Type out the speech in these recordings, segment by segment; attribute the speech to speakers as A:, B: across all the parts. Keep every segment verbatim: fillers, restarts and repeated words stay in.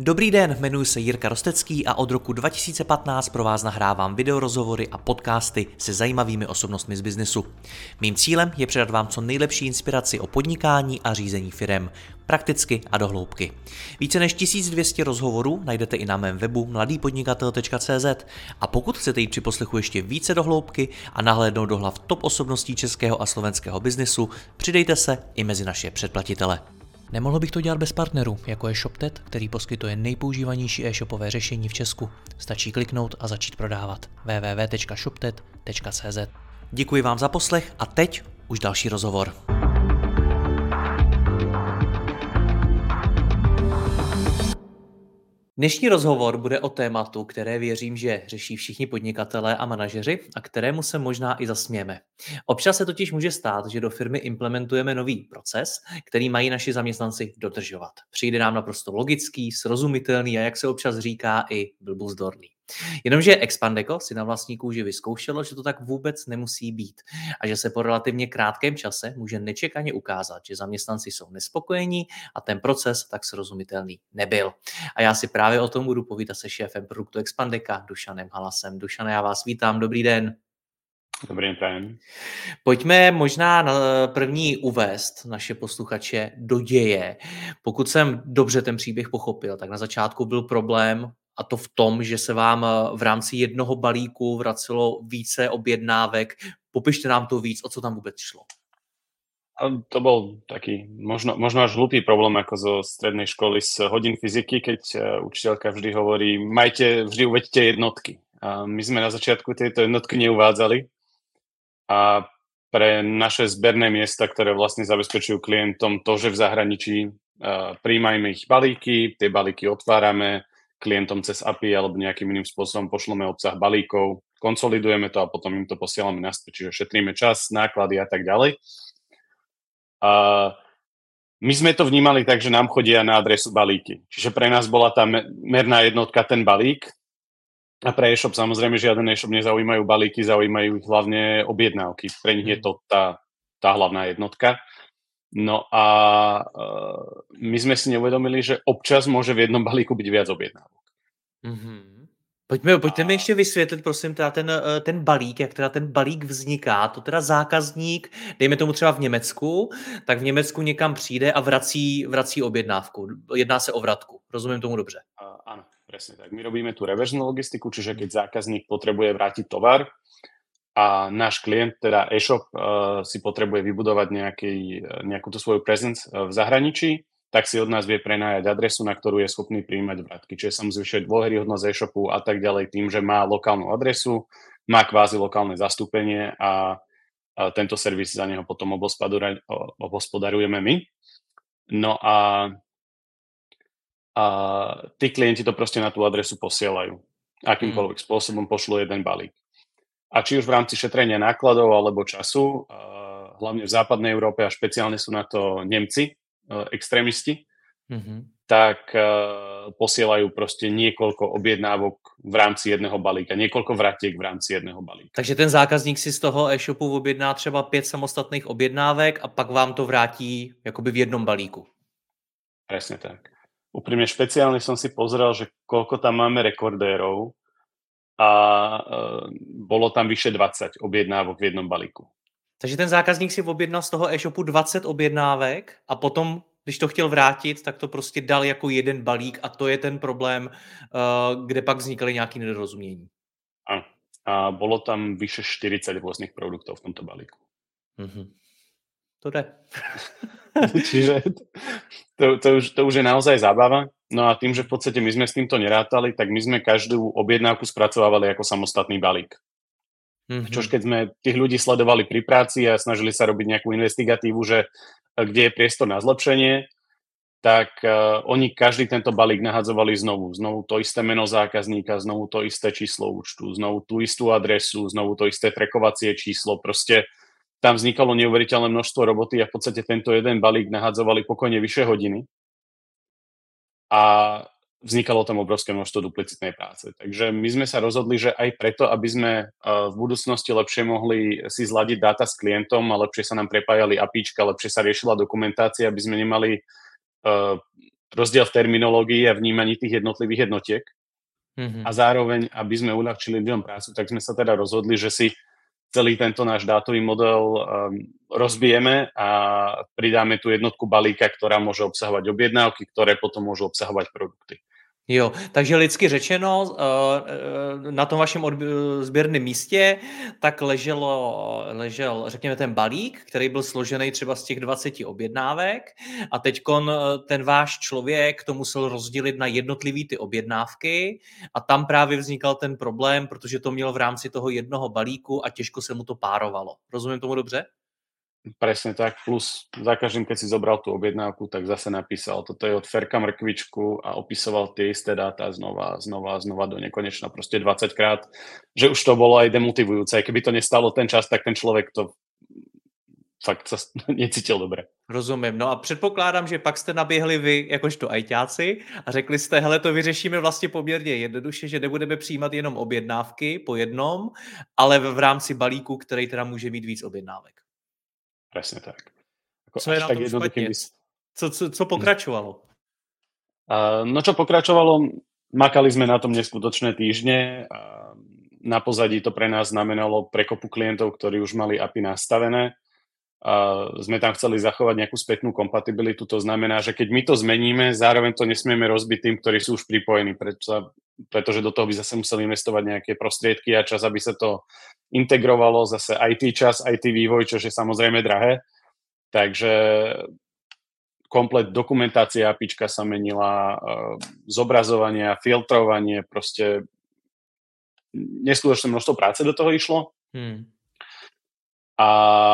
A: Dobrý den, jmenuji se Jirka Rostecký a od roku dva tisíce patnáct pro vás nahrávám videorozhovory a podcasty se zajímavými osobnostmi z biznesu. Mým cílem je předat vám co nejlepší inspiraci o podnikání a řízení firem, prakticky a do hloubky. Více než tisíc dvě stě rozhovorů najdete i na mém webu mladý podnikatel tečka cé zet a pokud chcete jít při poslechu ještě více do hloubky a nahlédnout do hlav top osobností českého a slovenského biznesu, přidejte se i mezi naše předplatitele. Nemohl bych to dělat bez partnerů, jako je ShopTet, který poskytuje nejpoužívanější e-shopové řešení v Česku. Stačí kliknout a začít prodávat. w w w tečka shoptet tečka cé zet. Děkuji vám za poslech a teď už další rozhovor. Dnešní rozhovor bude o tématu, které věřím, že řeší všichni podnikatelé a manažeři a kterému se možná i zasmějeme. Občas se totiž může stát, že do firmy implementujeme nový proces, který mají naši zaměstnanci dodržovat. Přijde nám naprosto logický, srozumitelný a jak se občas říká i blbuzdorný. Jenomže Expandeco si na vlastní kůži vyzkoušelo, že to tak vůbec nemusí být a že se po relativně krátkém čase může nečekaně ukázat, že zaměstnanci jsou nespokojení a ten proces tak srozumitelný nebyl. A já si právě o tom budu povídat se šéfem produktu Expandeca, Dušanem Halasem. Dušane, já vás vítám, dobrý den.
B: Dobrý den.
A: Pojďme možná na první uvést naše posluchače do děje. Pokud jsem dobře ten příběh pochopil, tak na začátku byl problém a to v tom, že se vám v rámci jednoho balíku vracelo více objednávek. Popište nám to víc, o co tam vůbec šlo.
B: To bol taký možno, možno až hlupý problém ako zo strednej školy z hodín fyziky, keď učiteľka vždy hovorí, majte, vždy uveďte jednotky. A my sme na začiatku tieto jednotky neuvádzali a pre naše zberné miesta, ktoré vlastne zabezpečujú klientom to, že v zahraničí prijímajme ich balíky, tie balíky otvárame, klientom cez á pé í alebo nejakým iným spôsobom pošleme obsah balíkov, konsolidujeme to a potom im to posielame naspäť, čiže šetríme čas, náklady a tak ďalej. A my sme to vnímali tak, že nám chodia na adresu balíky. Čiže pre nás bola tá merná jednotka ten balík a pre e-shop samozrejme žiaden e-shop nezaujímajú balíky, zaujímajú ich hlavne objednávky. Pre nich je to tá, tá hlavná jednotka. No a uh, my sme si neuvedomili, že občas môže v jednom balíku byť viac objednávok.
A: Mm-hmm. Pojďme, pojďte mi ještě vysvětlit, prosím, teda ten, ten balík, jak teda ten balík vzniká. To teda zákazník, dejme tomu třeba v Německu, tak v Německu někam přijde a vrací, vrací objednávku. Jedná se o vratku. Rozumím tomu dobře?
B: Uh, áno, presne tak. My robíme tú reverznú logistiku, čiže keď zákazník potrebuje vrátiť tovar a náš klient, teda e-shop, uh, si potrebuje vybudovať nejaký, nejakú tú svoju presence uh, v zahraničí, tak si od nás vie prenajať adresu, na ktorú je schopný prijímať vratky. Čiže sa mu zvyšuje dôveryhodnosť e-shopu a tak ďalej tým, že má lokálnu adresu, má kvázi lokálne zastúpenie a, a tento servis za neho potom obospodarujeme my. No a, a tí klienti to proste na tú adresu posielajú. Akýmkoľvek mm. spôsobom pošlú jeden balík. A či už v rámci šetrenia nákladov alebo času, hlavne v západnej Európe a špeciálne sú na to Nemci, extrémisti, mm-hmm. tak uh, posielajú proste niekoľko objednávok v rámci jedného balíka, niekoľko vratiek v rámci jedného balíka.
A: Takže ten zákazník si z toho e-shopu objedná třeba pět samostatných objednávek a pak vám to vrátí jakoby v jednom balíku.
B: Presne tak. Úprimne špeciálne som si pozrel, že koľko tam máme rekordérov a uh, bolo tam vyše dvadsať objednávok v jednom balíku.
A: Takže ten zákazník si objednal z toho e-shopu dvacet objednávek a potom, když to chtěl vrátit, tak to prostě dal jako jeden balík a to je ten problém, kde pak vznikaly nějaké nedorozumění.
B: Áno. A bolo tam vyše štyridsať rôznych produktov v tomto balíku.
A: Mm-hmm. To jde.
B: Čiže to, to, už, to už je naozaj zábava. No a tým, že v podstate my sme s týmto nerátali, tak my sme každú objednávku spracovávali ako samostatný balík. Mm-hmm. Čož keď sme tých ľudí sledovali pri práci a snažili sa robiť nejakú investigatívu, že kde je priestor na zlepšenie, tak uh, oni každý tento balík nahadzovali znovu. Znovu to isté meno zákazníka, znovu to isté číslo účtu, znovu tú istú adresu, znovu to isté trackovacie číslo. Proste tam vznikalo neuveriteľné množstvo roboty a v podstate tento jeden balík nahadzovali pokojne vyššie hodiny. A vznikalo tam obrovské množstvo duplicitnej práce. Takže my sme sa rozhodli, že aj preto, aby sme v budúcnosti lepšie mohli si zladiť dáta s klientom a lepšie sa nám prepájali apíčka, lepšie sa riešila dokumentácia, aby sme nemali uh, rozdiel v terminológii a vnímaní tých jednotlivých jednotiek. Mm-hmm. A zároveň, aby sme uľahčili ľuďom prácu, tak sme sa teda rozhodli, že si celý tento náš dátový model um, rozbijeme a pridáme tú jednotku balíka, ktorá môže obsahovať objednávky, ktoré potom môžu obsahovať produkty.
A: Jo, takže lidsky řečeno, na tom vašem sběrném místě tak leželo, ležel, řekněme, ten balík, který byl složený třeba z těch dvaceti objednávek a teďkon ten váš člověk to musel rozdělit na jednotlivý ty objednávky a tam právě vznikal ten problém, protože to mělo v rámci toho jednoho balíku a těžko se mu to párovalo. Rozumím tomu dobře?
B: Presne tak, plus za každým, keď si zobral tú objednávku, tak zase napísal, toto je od Ferka mrkvičku a opisoval tie isté dáta znova, znova, znova do nekonečna, proste dvadsať krát, že už to bolo aj demotivujúce. Aj keby to nestalo ten čas, tak ten človek to fakt sa necítil dobre.
A: Rozumím. No a předpokládám, že pak jste naběhli vy jakožto ajťáci a řekli jste, hele, to vyřešíme vlastně poměrně jednoduše, že nebudeme přijímat jenom objednávky po jednom, ale v rámci balíku, který teda může mít víc objednávek.
B: Presne tak. Ako
A: co je na tom špatně? By... Co, co, co pokračovalo?
B: Uh, no čo pokračovalo? Makali sme na tom neskutočné týždne. Uh, na pozadí to pre nás znamenalo prekopu klientov, ktorí už mali á pé í nastavené. Uh, sme tam chceli zachovať nejakú spätnú kompatibilitu. To znamená, že keď my to zmeníme, zároveň to nesmieme rozbiť tým, ktorí sú už pripojení, preto, pretože do toho by zase museli investovať nejaké prostriedky a čas, aby sa to integrovalo, zase í té čas, í té vývoj, čo je samozrejme drahé. Takže komplet dokumentácia APIčka sa menila, zobrazovanie, filtrovanie, proste neskutočné množstvo práce do toho išlo. Hmm. A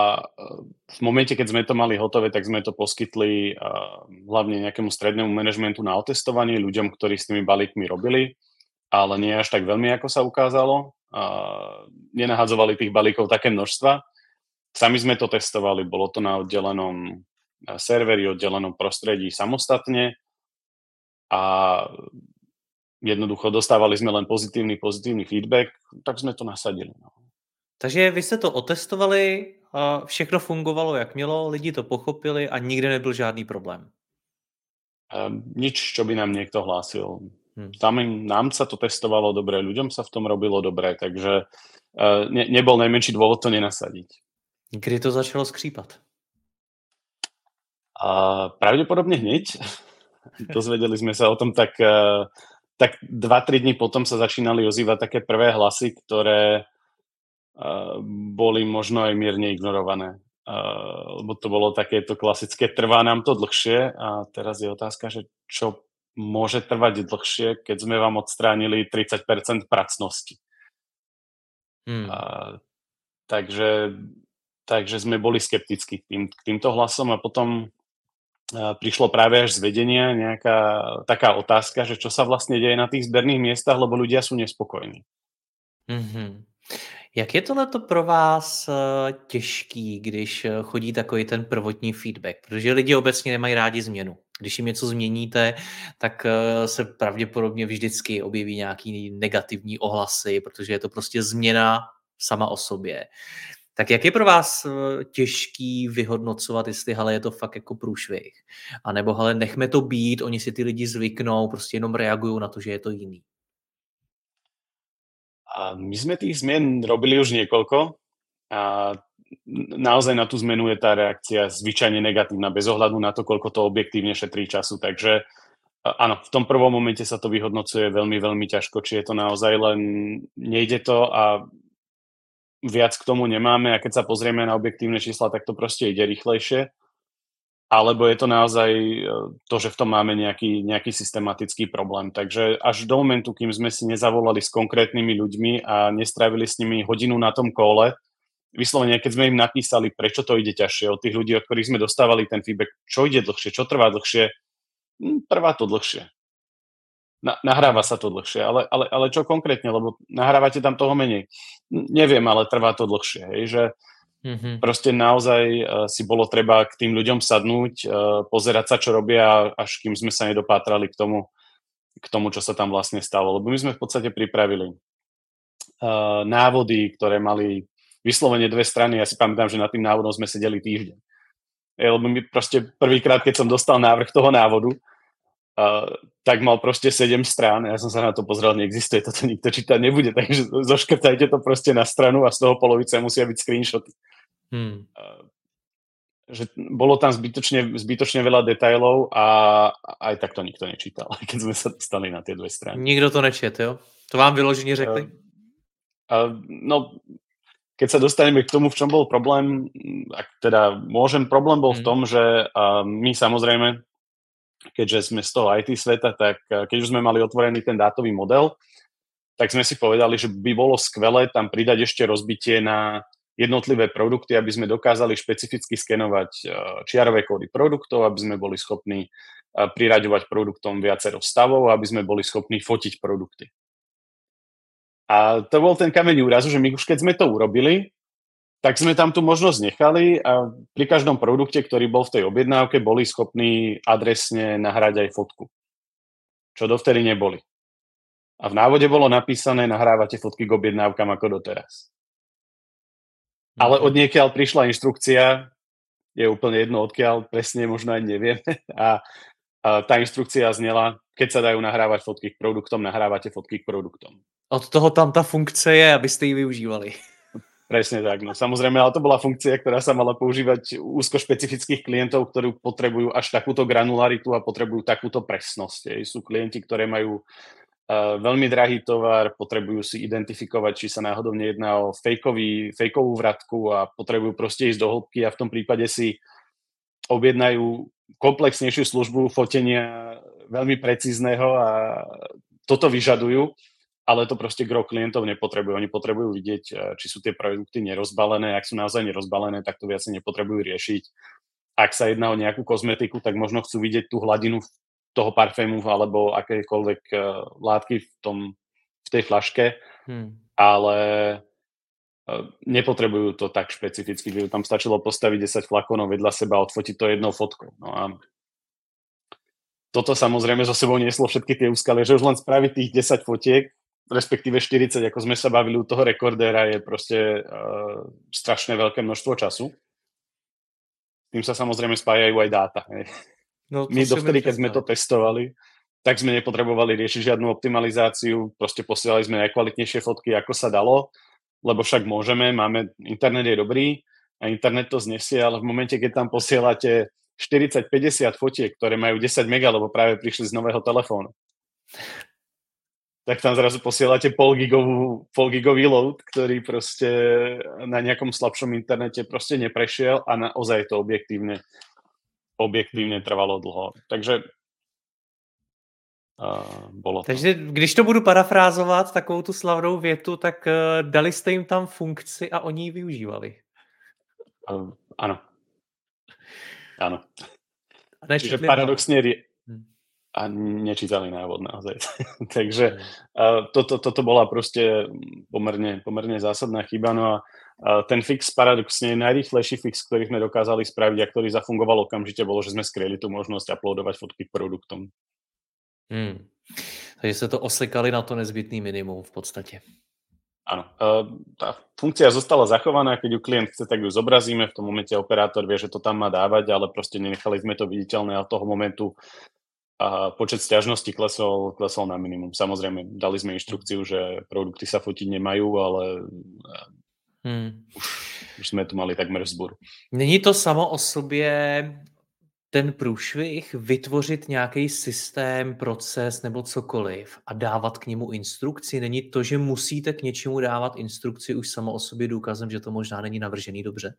B: v momente, keď sme to mali hotové, tak sme to poskytli hlavne nejakému strednému manažmentu na otestovanie, ľuďom, ktorí s tými balíkmi robili, ale nie až tak veľmi, ako sa ukázalo. Uh, nenahadzovali tých balíkov také množstva. Sami sme to testovali, bolo to na oddelenom serveri, oddelenom prostredí samostatne a jednoducho dostávali sme len pozitívny, pozitívny feedback, tak sme to nasadili. No.
A: Takže vy jste to otestovali a všechno fungovalo, jak mělo, lidi to pochopili a nikde nebyl žádný problém.
B: Uh, nič, čo by nám niekto hlásil. Hmm. Samým nám sa to testovalo dobre, ľuďom sa v tom robilo dobre, takže uh, ne, nebol najmenší dôvod to nenasadiť.
A: Kdy to začalo skřípat?
B: Uh, pravdepodobne hneď. Dozvedeli sme sa o tom tak, uh, tak dva tri dní potom sa začínali ozývať také prvé hlasy, ktoré uh, boli možno aj mierne ignorované. Uh, lebo to bolo takéto klasické, trvá nám to dlhšie a teraz je otázka, že čo môže trvať dlhšie, keď sme vám odstránili tridsať percent pracnosti. Hmm. A, takže, takže sme boli skeptickí k, tým, k týmto hlasom a potom a, prišlo práve až z vedenia nejaká taká otázka, že čo sa vlastne deje na tých zberných miestach, lebo ľudia sú nespokojní.
A: Mm-hmm. Jak je tohleto pro vás těžký, když chodí takový ten prvotní feedback? Protože lidi obecně nemají rádi změnu. Když jim něco změníte, tak se pravděpodobně vždycky objeví nějaký negativní ohlasy, protože je to prostě změna sama o sobě. Tak jak je pro vás těžký vyhodnocovat, jestli hele, je to fakt jako průšvih? A nebo hele, nechme to být, oni si ty lidi zvyknou, prostě jenom reagují na to, že je to jiný.
B: A my sme tých zmien robili už niekoľko a naozaj na tú zmenu je tá reakcia zvyčajne negatívna, bez ohľadu na to, koľko to objektívne šetrí času. Takže áno, v tom prvom momente sa to vyhodnocuje veľmi, veľmi ťažko, či je to naozaj len nejde to a viac k tomu nemáme a keď sa pozrieme na objektívne čísla, tak to proste ide rýchlejšie. Alebo je to naozaj to, že v tom máme nejaký, nejaký systematický problém. Takže až do momentu, kým sme si nezavolali s konkrétnymi ľuďmi a nestrávili s nimi hodinu na tom kole, vyslovene, keď sme im napísali, prečo to ide ťažšie, od tých ľudí, od ktorých sme dostávali ten feedback, čo ide dlhšie, čo trvá dlhšie, trvá to dlhšie. Na, nahráva sa to dlhšie, ale, ale, ale čo konkrétne, lebo nahrávate tam toho menej. Neviem, ale trvá to dlhšie, hej, že Mm-hmm. proste naozaj uh, si bolo treba k tým ľuďom sadnúť, uh, pozerať sa, čo robia, až kým sme sa nedopátrali k tomu, k tomu, čo sa tam vlastne stalo. Lebo my sme v podstate pripravili uh, návody, ktoré mali vyslovene dve strany. Ja si pamätám, že na tým návodom sme sedeli týždeň. E, lebo mi proste prvýkrát, keď som dostal návrh toho návodu, uh, tak mal proste sedem strán. Ja som sa na to pozrel, neexistuje, toto nikto čítať nebude, takže zoškrtajte to proste na stranu a z toho polovice musia byť screenshoty. Hmm. Uh, že bolo tam zbytočne, zbytočne veľa detailov a aj tak to nikto nečítal, keď sme sa dostali na tie dve strany.
A: Nikdo to nečet, jo? To vám vyloženě řekli?
B: Uh, uh, no, keď sa dostaneme k tomu, v čom bol problém, ak teda môžem, problém bol hmm. v tom, že uh, my samozrejme, keďže sme z toho í té sveta, tak uh, keď už sme mali otvorený ten dátový model, tak sme si povedali, že by bolo skvelé tam pridať ešte rozbitie na jednotlivé produkty, aby sme dokázali špecificky skenovať čiarové kódy produktov, aby sme boli schopní priraďovať produktom viacero stavov, aby sme boli schopní fotiť produkty. A to bol ten kameň úrazu, že my už keď sme to urobili, tak sme tam tú možnosť nechali a pri každom produkte, ktorý bol v tej objednávke, boli schopní adresne nahrať aj fotku. Čo dovtedy neboli. A v návode bolo napísané, nahrávate fotky k objednávkam ako doteraz. Ale od niekiaľ prišla inštrukcia, je úplne jedno odkiaľ, presne možno aj nevieme. A, a tá inštrukcia znela, keď sa dajú nahrávať fotky k produktom, nahrávate fotky k produktom.
A: Od toho tam tá funkcia je, aby ste ju využívali.
B: Presne tak. No samozrejme, ale to bola funkcia, ktorá sa mala používať úzko špecifických klientov, ktorí potrebujú až takúto granularitu a potrebujú takúto presnosť. Sú klienti, ktoré majú Uh, veľmi drahý tovar, potrebujú si identifikovať, či sa náhodou nejedná o fejkový, fejkovú vratku a potrebujú proste ísť do hĺbky a v tom prípade si objednajú komplexnejšiu službu fotenia veľmi precízneho a toto vyžadujú, ale to proste gro klientov nepotrebujú. Oni potrebujú vidieť, či sú tie produkty nerozbalené. Ak sú naozaj nerozbalené, tak to viac nepotrebujú riešiť. Ak sa jedná o nejakú kozmetiku, tak možno chcú vidieť tú hladinu toho parfému alebo akékoľvek uh, látky v, tom, v tej fľaške, hmm. ale uh, nepotrebujú to tak špecificky, že tam stačilo postaviť desať flakónov vedľa seba a odfotiť to jednou fotkou. No a toto samozrejme zo sebou nieslo všetky tie úskalie, že už len spraviť tých desať fotiek, respektíve štyridsať, ako sme sa bavili u toho rekordéra, je proste uh, strašne veľké množstvo času. Tým sa samozrejme spájajú aj dáta. Hej. No, my dovtedy, keď sme to testovali, tak sme nepotrebovali riešiť žiadnu optimalizáciu, proste posielali sme najkvalitnejšie fotky, ako sa dalo, lebo však môžeme, máme, internet je dobrý a internet to znesie, ale v momente, keď tam posielate štyridsať päťdesiat fotiek, ktoré majú desať mega, lebo práve prišli z nového telefónu, tak tam zrazu posielate polgigovú, polgigový load, ktorý proste na nejakom slabšom internete proste neprešiel a naozaj to objektívne objektívne trvalo dlho. Takže uh, bolo to.
A: Takže když to budu parafrázovat, takovou tu slavnou větu, tak uh, dali jste jim tam funkci a oni ji využívali.
B: Uh, áno. Áno.
A: A
B: Čiže paradoxne rie- a nečítali návod naozaj. Takže uh, toto, toto bola proste pomerne, pomerne zásadná chyba. No a uh, ten fix paradoxne najrýchlejší fix, ktorý sme dokázali spraviť a ktorý zafungoval okamžite, bolo, že sme skryli tú možnosť uploadovať fotky k produktom.
A: Hmm. Takže ste to osekali na to nezbytný minimum v podstate.
B: Áno. Uh, tá funkcia zostala zachovaná, keď ju klient chce, tak ju zobrazíme. V tom momente operátor vie, že to tam má dávať, ale proste nenechali sme to viditeľné a od toho momentu a počet sťažností klesol, klesol na minimum. Samozrejme, dali sme inštrukciu, že produkty sa fotiť nemajú, ale hmm. už, už sme tu mali takmer vzburu.
A: Není to samo o sobě ten průšvih vytvořit nějaký systém, proces nebo cokoliv a dávat k němu instrukci? Není to, že musíte k něčemu dávat instrukci už samo o sobě důkazem, že to možná není navržený dobře?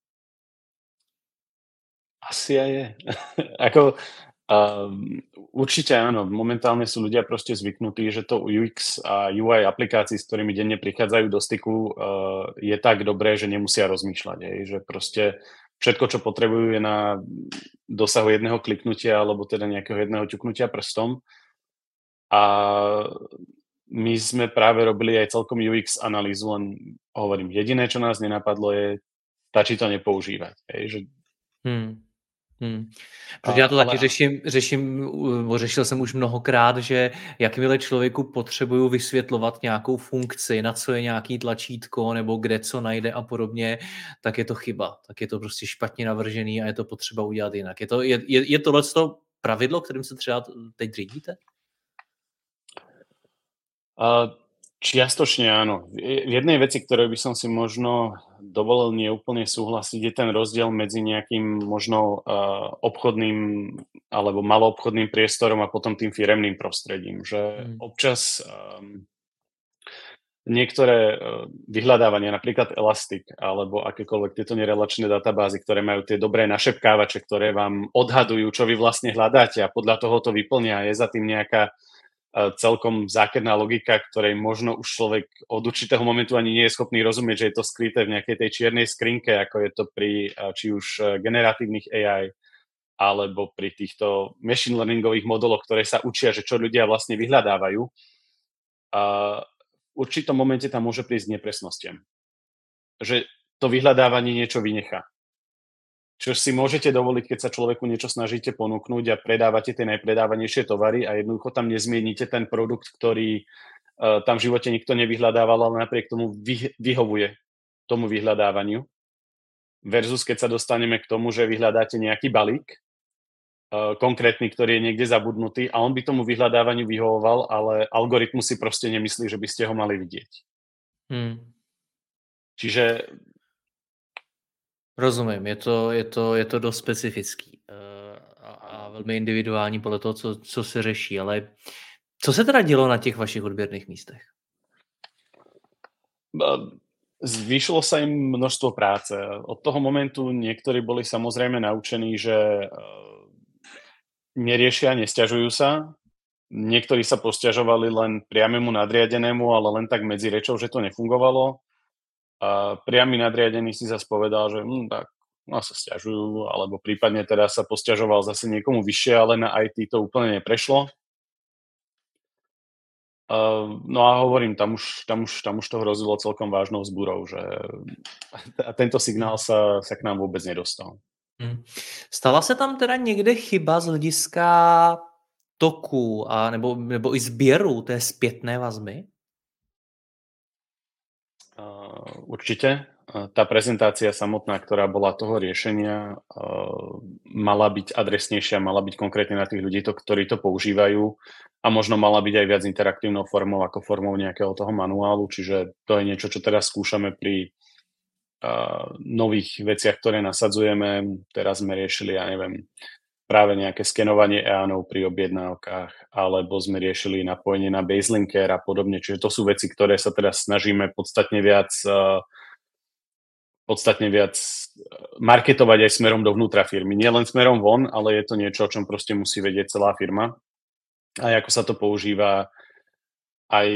B: Asi aj je. Ako Um, určite áno, momentálne sú ľudia proste zvyknutí, že to ú iks a ú í aplikácií, s ktorými denne prichádzajú do styku, uh, je tak dobré, že nemusia rozmýšľať, hej, že proste všetko, čo potrebujú, je na dosahu jedného kliknutia alebo teda nejakého jedného ťuknutia prstom. A my sme práve robili aj celkom ú iks analýzu, len hovorím, jediné, čo nás nenapadlo je, stačí to nepoužívať, hej, že
A: hmm. Hmm. Protože já to taky ale... řeším, řeším, řešil jsem už mnohokrát, že jakmile člověku potřebuju vysvětlovat nějakou funkci, na co je nějaký tlačítko, nebo kde co najde a podobně, tak je to chyba. Tak je to prostě špatně navržený a je to potřeba udělat jinak. Je to, je, je, je tohleto pravidlo, kterým se třeba teď řídíte?
B: Uh, čiastočne áno. V jednej veci, ktorej by som si možno dovolil neúplne súhlasiť, je ten rozdiel medzi nejakým možno uh, obchodným alebo maloobchodným priestorom a potom tým firemným prostredím. Že
A: Hmm.
B: občas um, niektoré uh, vyhľadávania, napríklad Elastic alebo akékoľvek tieto nerelačné databázy, ktoré majú tie dobré našepkávače, ktoré vám odhadujú, čo vy vlastne hľadáte a podľa toho to vyplnia. Je za tým nejaká celkom zákerná logika, ktorej možno už človek od určitého momentu ani nie je schopný rozumieť, že je to skryté v nejakej tej čiernej skrinke, ako je to pri či už generatívnych á í alebo pri týchto machine learningových modeloch, ktoré sa učia, že čo ľudia vlastne vyhľadávajú. A v určitom momente tam môže prísť nepresnostiam. Že to vyhľadávanie niečo vynechá. Čo si môžete dovoliť, keď sa človeku niečo snažíte ponúknuť a predávate tie najpredávanejšie tovary a jednoducho tam nezmienite ten produkt, ktorý uh, tam v živote nikto nevyhľadával, ale napriek tomu vy, vyhovuje tomu vyhľadávaniu. Versus keď sa dostaneme k tomu, že vyhľadáte nejaký balík, uh, konkrétny, ktorý je niekde zabudnutý a on by tomu vyhľadávaniu vyhovoval, ale algoritmus si proste nemyslí, že by ste ho mali vidieť. Hmm. Čiže
A: rozumím, je to, je to, je to dost specifický a, a velmi individuální podle toho, co, co se řeší, ale co se teda dělo na těch vašich odběrných místech?
B: Zvýšilo sa im množstvo práce. Od toho momentu niektorí boli samozrejme naučení, že neriešia, nesťažujú sa. Niektorí sa posťažovali len priamému nadriadenému, ale len tak medzi rečou, že to nefungovalo. A priamy nadriadený si zase povedal, že hm, tak no, sa sťažujú, alebo prípadne teda sa posťažoval zase niekomu vyššie, ale na í té to úplne neprešlo. Uh, no a hovorím, tam už, tam, už, tam už to hrozilo celkom vážnou zbúrou, že a tento signál sa, sa k nám vôbec nedostal.
A: Hmm. Stala se tam teda někde chyba z hlediska toku a nebo, nebo i sběru té zpětné vazby?
B: Uh, určite. Uh, tá prezentácia samotná, ktorá bola toho riešenia, uh, mala byť adresnejšia, mala byť konkrétne na tých ľudí, to, ktorí to používajú a možno mala byť aj viac interaktívnou formou ako formou nejakého toho manuálu, čiže to je niečo, čo teraz skúšame pri uh, nových veciach, ktoré nasadzujeme. Teraz sme riešili, ja neviem, práve nejaké skenovanie EANov pri objednávkach, alebo sme riešili napojenie na baselinker a podobne. Čiže to sú veci, ktoré sa teraz snažíme podstatne viac, podstatne viac marketovať aj smerom dovnútra firmy. Nie len smerom von, ale je to niečo, o čom proste musí vedieť celá firma. A ako sa to používa, aj,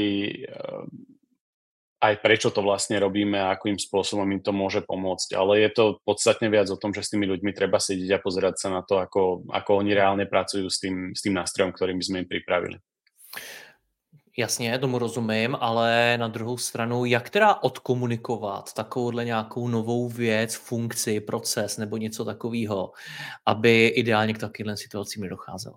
B: aj prečo to vlastne robíme a akým spôsobom im to môže pomôcť. Ale je to podstatne viac o tom, že s tými ľuďmi treba sedieť a pozerať sa na to, ako, ako oni reálne pracujú s tým, s tým nástrojom, ktorým sme im pripravili.
A: Jasně, tomu rozumím, ale na druhou stranu, jak teda odkomunikovat takovouhle nějakou novou věc, funkci, proces nebo něco takového, aby ideálně k takovým situacím nedocházelo?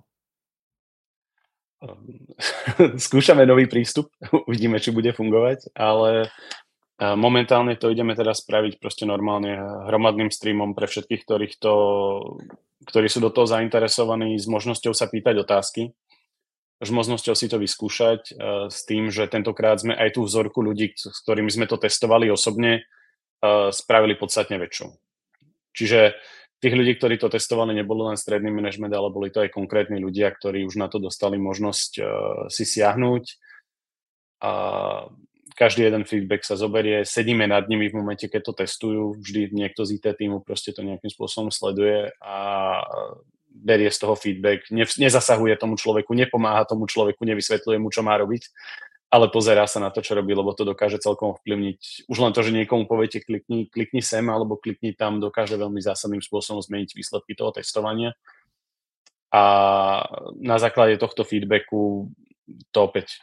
B: Skúšame nový prístup, uvidíme, či bude fungovať, ale momentálne to ideme teda spraviť proste normálne hromadným streamom pre všetkých, ktorých to, ktorí sú do toho zainteresovaní, s možnosťou sa pýtať otázky, s možnosťou si to vyskúšať, s tým, že tentokrát sme aj tú vzorku ľudí, s ktorými sme to testovali osobne, spravili podstatne väčšiu. Čiže tých ľudí, ktorí to testovali, nebolo len stredný manažment, ale boli to aj konkrétni ľudia, ktorí už na to dostali možnosť uh, si siahnuť. A každý jeden feedback sa zoberie, sedíme nad nimi v momente, keď to testujú, vždy niekto z í té týmu proste to nejakým spôsobom sleduje a berie z toho feedback, ne, nezasahuje tomu človeku, nepomáha tomu človeku, nevysvetľuje mu, čo má robiť, ale pozerá sa na to, čo robí, lebo to dokáže celkom ovplyvniť. Už len to, že niekomu poviete klikni, klikni sem alebo klikni tam, dokáže veľmi zásadným spôsobom zmeniť výsledky toho testovania. A na základe tohto feedbacku to opäť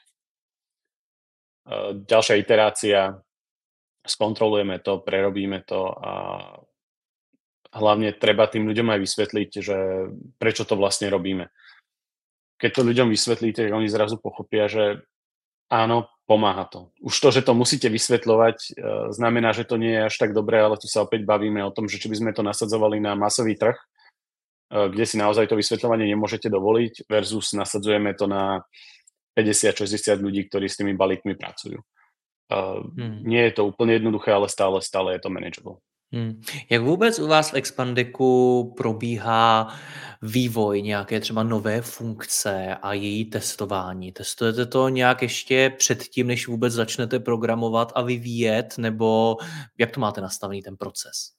B: ďalšia iterácia, skontrolujeme to, prerobíme to a hlavne treba tým ľuďom aj vysvetliť, že prečo to vlastne robíme. Keď to ľuďom vysvetlíte, oni zrazu pochopia, že áno, pomáha to. Už to, že to musíte vysvetľovať, znamená, že to nie je až tak dobré, ale tu sa opäť bavíme o tom, že či by sme to nasadzovali na masový trh, kde si naozaj to vysvetľovanie nemôžete dovoliť versus nasadzujeme to na päťdesiat šesťdesiat ľudí, ktorí s tými balíkmi pracujú.
A: Hmm.
B: Nie je to úplne jednoduché, ale stále, stále je to manageable.
A: Hmm. Jak vůbec u vás v Expandiku probíhá vývoj nějaké třeba nové funkce a její testování? Testujete to nějak ještě předtím, než vůbec začnete programovat a vyvíjet, nebo jak to máte nastavený ten proces?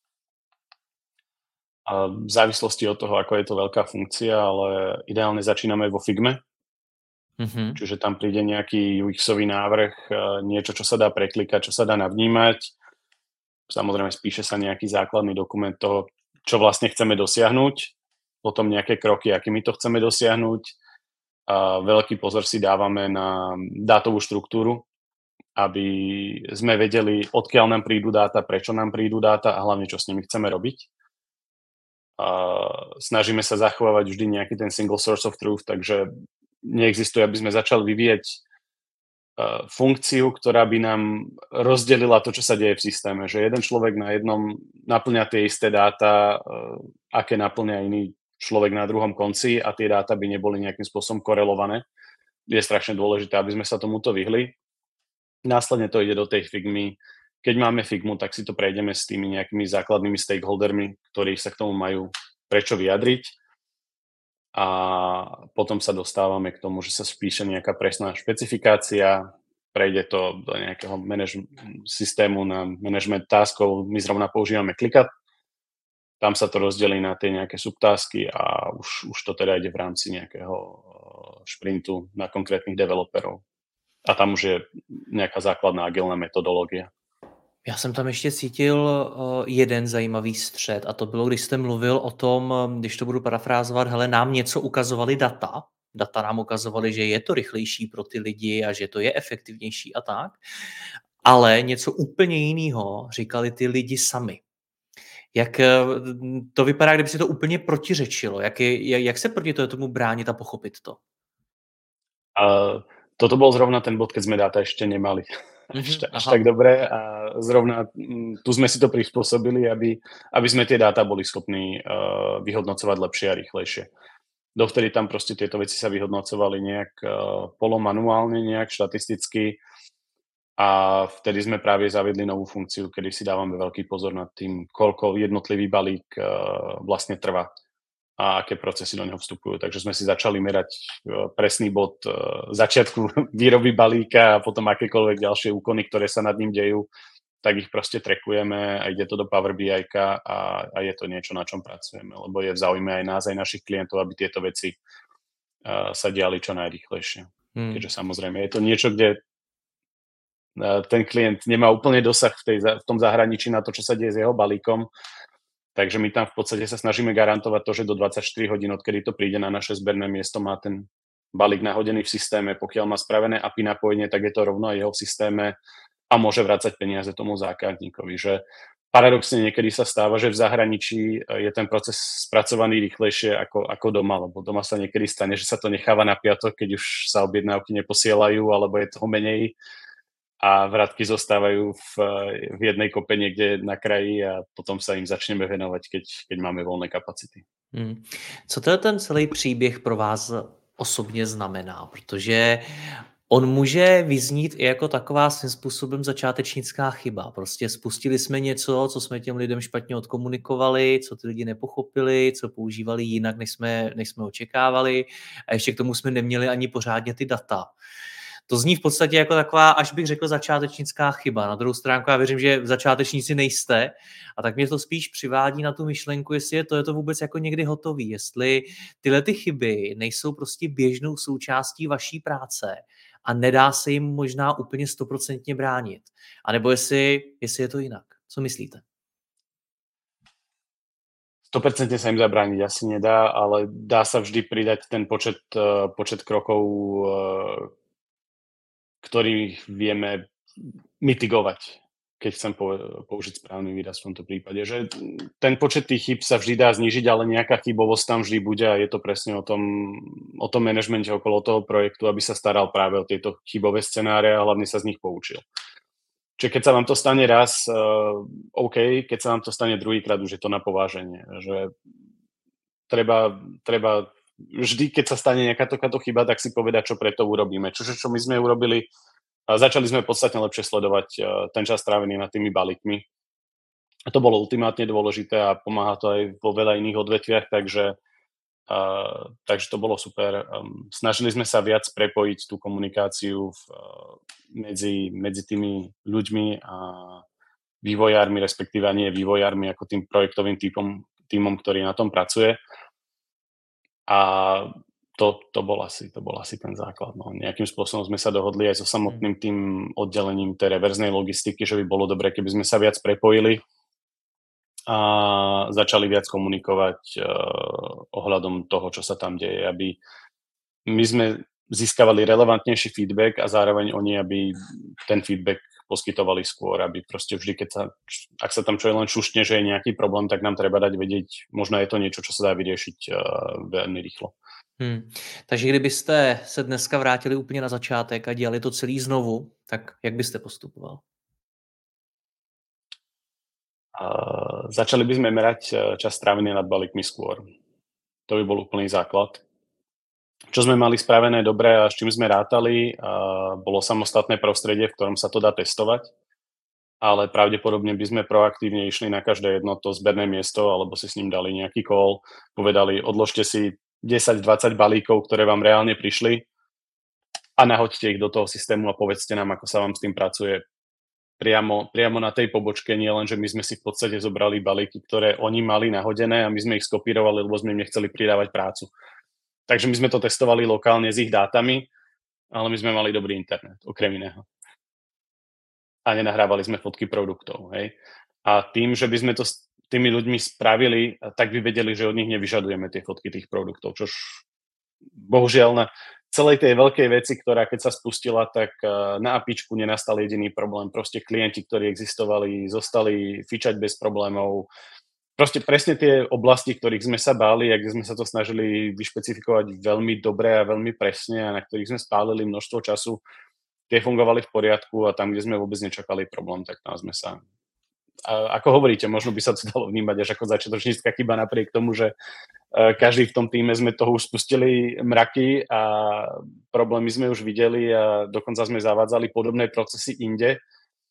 B: A v závislosti od toho, ako je to veľká funkcia, ale ideálne začíname vo Figme,
A: Mhm.
B: čiže tam príde nejaký ú exový návrh, niečo, čo sa dá preklikať, čo sa dá navnímať. Samozrejme, spíše sa nejaký základný dokument toho, čo vlastne chceme dosiahnuť, potom nejaké kroky, akými to chceme dosiahnuť. A veľký pozor si dávame na dátovú štruktúru, aby sme vedeli, odkiaľ nám prídu dáta, prečo nám prídu dáta a hlavne, čo s nimi chceme robiť. A snažíme sa zachovávať vždy nejaký ten single source of truth, takže neexistuje, aby sme začali vyvíjať uh, funkciu, ktorá by nám rozdelila to, čo sa deje v systéme. Že jeden človek na jednom naplňa tie isté dáta, uh, aké naplňa iný človek na druhom konci a tie dáta by neboli nejakým spôsobom korelované. Je strašne dôležité, aby sme sa tomuto vyhli. Následne to ide do tej Figmy. Keď máme Figmu, tak si to prejdeme s tými nejakými základnými stakeholdermi, ktorí sa k tomu majú prečo vyjadriť. A potom sa dostávame k tomu, že sa spíše nejaká presná špecifikácia, prejde to do nejakého manage- systému na management taskov. My zrovna používame ClickUp. Tam sa to rozdelí na tie nejaké subtásky a už, už to teda ide v rámci nejakého šprintu na konkrétnych developerov. A tam už je nějaká základná agilná metodologie.
A: Já jsem tam ještě cítil uh, jeden zajímavý střed a to bylo, když jste mluvil o tom, když to budu parafrázovat, hele, nám něco ukazovali data, data nám ukazovaly, že je to rychlejší pro ty lidi a že to je efektivnější a tak, ale něco úplně jiného říkali ty lidi sami. Jak to vypadá, kdyby si to úplně protiřečilo? Jak, je, jak se proti tomu bránit a pochopit to?
B: A toto bol zrovna ten bod, keď sme dáta ešte nemali.
A: Mm-hmm,
B: až, až
A: aha.
B: tak dobré a zrovna tu sme si to prispôsobili, aby, aby sme tie dáta boli schopní uh, vyhodnocovať lepšie a rýchlejšie. Dovtedy tam proste tieto veci sa vyhodnocovali nejak uh, polomanuálne, nejak štatisticky a vtedy sme práve zaviedli novú funkciu, kedy si dávame veľký pozor nad tým, koľko jednotlivý balík uh, vlastne trvá a aké procesy do neho vstupujú. Takže sme si začali merať presný bod začiatku výroby balíka a potom akékoľvek ďalšie úkony, ktoré sa nad ním dejú, tak ich proste trackujeme a ide to do Power bí aj a, a je to niečo, na čom pracujeme, lebo je v záujme aj nás, aj našich klientov, aby tieto veci uh, sa diali čo najrýchlejšie. Hmm. Keďže samozrejme je to niečo, kde uh, ten klient nemá úplne dosah v, tej, v tom zahraničí na to, čo sa deje s jeho balíkom. Takže my tam v podstate sa snažíme garantovať to, že do dvadsaťštyri hodín, odkedy to príde na naše zberné miesto, má ten balík nahodený v systéme. Pokiaľ má spravené á pé í napojenie, tak je to rovno aj jeho v systéme a môže vracať peniaze tomu zákazníkovi. Že paradoxne niekedy sa stáva, že v zahraničí je ten proces spracovaný rýchlejšie ako, ako doma, lebo doma sa niekedy stane, že sa to necháva na piatok, keď už sa objednávky neposielajú, alebo je toho menej a vratky zostávajú v, v jednej kope niekde na kraji a potom sa im začneme venovať, keď, keď máme volné kapacity.
A: Hmm. Co to ten celý příběh pro vás osobně znamená? Protože on může vyznít i jako taková svým způsobem začátečnická chyba. Prostě spustili jsme něco, co jsme těm lidem špatně odkomunikovali, co ty lidi nepochopili, co používali jinak, než jsme, než jsme očekávali a ještě k tomu jsme neměli ani pořádně ty data. To zní v podstatě jako taková, až bych řekl, začátečnická chyba. Na druhou stránku já věřím, že začátečníci nejste a tak mě to spíš přivádí na tu myšlenku, jestli je to, je to vůbec jako někdy hotový, jestli tyhle ty chyby nejsou prostě běžnou součástí vaší práce a nedá se jim možná úplně stoprocentně bránit. A nebo jestli, jestli je to jinak. Co myslíte?
B: sto percent sa im zabrániť asi nedá, ale dá sa vždy pridať ten počet, počet krokov, ktorých vieme mitigovať, keď chcem použiť správny výraz v tomto prípade. Že ten počet tých chyb sa vždy dá znížiť, ale nejaká chybovosť tam vždy bude a je to presne o tom, o tom manažmente okolo toho projektu, aby sa staral práve o tieto chybové scenáre a hlavne sa z nich poučil. Čiže keď sa vám to stane raz, uh, OK, keď sa vám to stane druhýkrát, už je to na pováženie. Že treba, treba vždy, keď sa stane nejaká takáto chyba, tak si povedať, čo preto urobíme. Čo, čo my sme urobili, a začali sme podstatne lepšie sledovať ten čas strávený nad tými balíkmi. A to bolo ultimátne dôležité a pomáha to aj vo veľa iných odvetviach, takže, uh, takže to bolo super. Um, snažili sme sa viac prepojiť tú komunikáciu v, uh, medzi, medzi tými ľuďmi a vývojármi, respektíve nie vývojármi, ako tým projektovým týpom, týmom, ktorý na tom pracuje. A to, to, bol asi, to bol asi ten základ. No. Nejakým spôsobom sme sa dohodli aj so samotným tým oddelením tej reverznej logistiky, že by bolo dobré, keby sme sa viac prepojili a začali viac komunikovať uh, ohľadom toho, čo sa tam deje, aby my sme získavali relevantnejší feedback a zároveň oni, aby ten feedback poskytovali skôr, aby proste vždy, keď sa, ak sa tam čo len šušne, že je nejaký problém, tak nám treba dať vedieť, možno je to niečo, čo sa dá vyriešiť uh, veľmi rýchlo.
A: Hmm. Takže kdybyste se dneska vrátili úplně na začátek a dělali to celý znovu, tak jak byste postupoval?
B: Uh, začali by sme merať čas strávený nad balíkmi skôr. To by bol úplný základ. Čo sme mali spravené dobre a s čím sme rátali, uh, bolo samostatné prostredie, v ktorom sa to dá testovať, ale pravdepodobne by sme proaktívne išli na každé jedno to zberné miesto, alebo si s ním dali nejaký call, povedali, odložte si desať dvadsať balíkov, ktoré vám reálne prišli a nahoďte ich do toho systému a povedzte nám, ako sa vám s tým pracuje. Priamo, priamo na tej pobočke, nie len, že my sme si v podstate zobrali balíky, ktoré oni mali nahodené a my sme ich skopírovali, lebo sme im nechceli pridávať prácu. Takže my sme to testovali lokálne s ich dátami, ale my sme mali dobrý internet, okrem iného. A nenahrávali sme fotky produktov. Hej? A tým, že by sme to s tými ľuďmi spravili, tak by vedeli, že od nich nevyžadujeme tie fotky tých produktov, čož bohužiaľ na celej tej veľkej veci, ktorá keď sa spustila, tak na apičku nenastal jediný problém. Proste klienti, ktorí existovali, zostali fičať bez problémov. Proste presne tie oblasti, ktorých sme sa báli a kde sme sa to snažili vyšpecifikovať veľmi dobre a veľmi presne a na ktorých sme spálili množstvo času, tie fungovali v poriadku a tam, kde sme vôbec nečakali problém, tak tam sme sa... A ako hovoríte, možno by sa to dalo vnímať až ako začiatočnícka chyba napriek tomu, že každý v tom týme sme toho už spustili mraky a problémy sme už videli a dokonca sme zavádzali podobné procesy inde.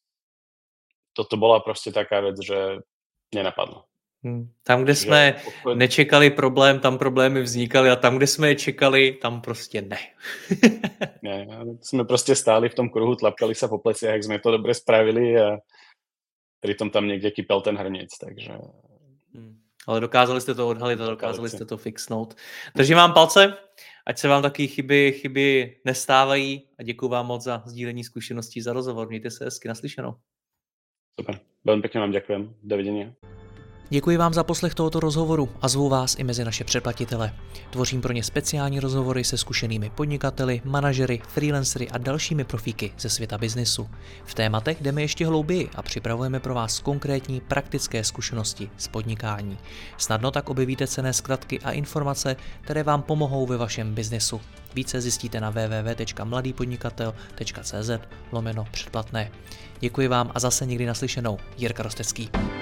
B: Toto bola proste taká vec, že nenapadlo.
A: Hmm. Tam, kde jsme že... nečekali problém, tam problémy vznikaly a tam, kde jsme je čekali, tam prostě ne.
B: ne, jsme prostě stáli v tom kruhu, tlapkali sa po pleciach, jak sme to dobre spravili a pritom tam někde kypel ten hrniec, takže...
A: Hmm. Ale dokázali jste to odhalit a dokázali jste to fixnout. Držím vám palce, ať se vám taky chyby, chyby nestávají a děkuji vám moc za sdílení zkušeností, za rozhovor. Mějte se hezky, naslyšenou.
B: Super, veľmi pekne vám ďakujem. Dovidenia.
A: Děkuji vám za poslech tohoto rozhovoru a zvu vás i mezi naše předplatitele. Tvořím pro ně speciální rozhovory se zkušenými podnikateli, manažery, freelancery a dalšími profíky ze světa biznisu. V tématech jdeme ještě hlouběji a připravujeme pro vás konkrétní praktické zkušenosti z podnikání. Snadno tak objevíte cenné zkratky a informace, které vám pomohou ve vašem biznisu. Více zjistíte na w w w tečka mladý podnikatel tečka c z lomeno předplatné. Děkuji vám a zase někdy naslyšenou. Jirka Rostecký.